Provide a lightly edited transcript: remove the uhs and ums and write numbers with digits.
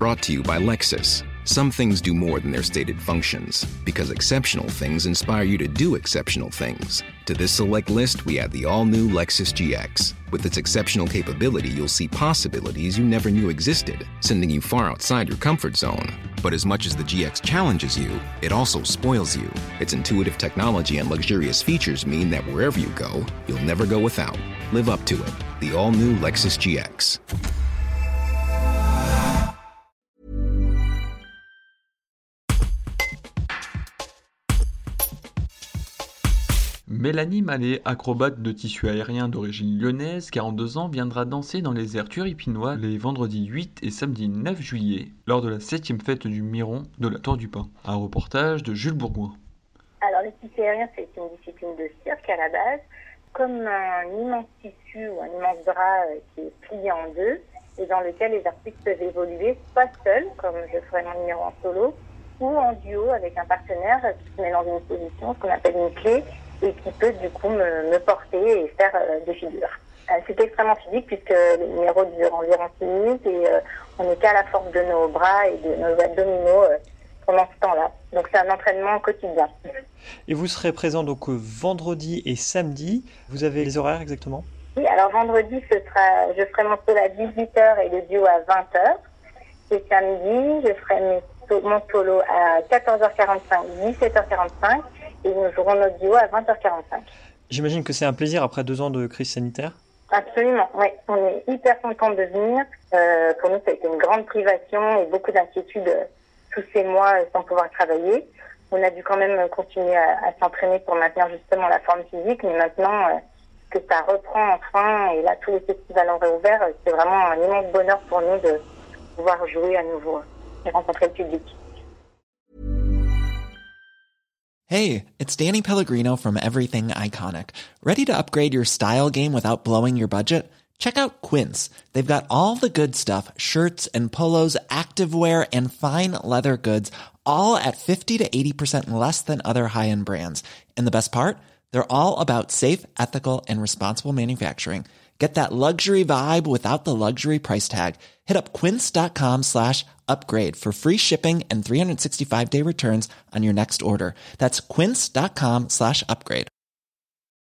Brought to you by Lexus. Some things do more than their stated functions, because exceptional things inspire you to do exceptional things. To this select list, we add the all-new Lexus GX. With its exceptional capability, you'll see possibilities you never knew existed, sending you far outside your comfort zone. But as much as the GX challenges you, it also spoils you. Its intuitive technology and luxurious features mean that wherever you go, you'll never go without. Live up to it. The all-new Lexus GX. Mélanie Mallet, acrobate de tissu aérien d'origine lyonnaise, 42 ans, viendra danser dans les airs turipinois les vendredis 8 et samedi 9 juillet, lors de la 7e fête du Miron de la Tour du Pin. Un reportage de Jules Bourgoin. Alors le tissu aérien, c'est une discipline de cirque à la base, comme un immense tissu ou un immense drap qui est plié en deux et dans lequel les artistes peuvent évoluer, pas seuls, comme je ferai mon numéro en solo, ou en duo avec un partenaire qui se met dans une position, ce qu'on appelle une clé, et qui peut du coup me porter et faire des figures. C'est extrêmement physique puisque les numéros durent environ 6 minutes et on n'est qu'à la force de nos bras et de nos abdominaux pendant ce temps-là. Donc c'est un entraînement quotidien. Et vous serez présent donc vendredi et samedi. Vous avez les horaires exactement ? Oui, alors vendredi, je ferai mon solo à 18h et le duo à 20h. Et samedi, je ferai mon solo à 14h45, 17h45. Et nous jouerons notre duo à 20h45. J'imagine que c'est un plaisir après 2 ans de crise sanitaire. Absolument, oui. On est hyper contents de venir. Pour nous, ça a été une grande privation et beaucoup d'inquiétudes tous ces mois sans pouvoir travailler. On a dû quand même continuer à s'entraîner pour maintenir justement la forme physique. Mais maintenant que ça reprend enfin et là, tous les festivals ont réouvert, c'est vraiment un immense bonheur pour nous de pouvoir jouer à nouveau et rencontrer le public. Hey, it's Danny Pellegrino from Everything Iconic. Ready to upgrade your style game without blowing your budget? Check out Quince. They've got all the good stuff, shirts and polos, activewear, and fine leather goods, all at 50 to 80% less than other high-end brands. And the best part? They're all about safe, ethical, and responsible manufacturing. Get that luxury vibe without the luxury price tag. Hit up quince.com/upgrade for free shipping and 365-day returns on your next order. That's quince.com/upgrade.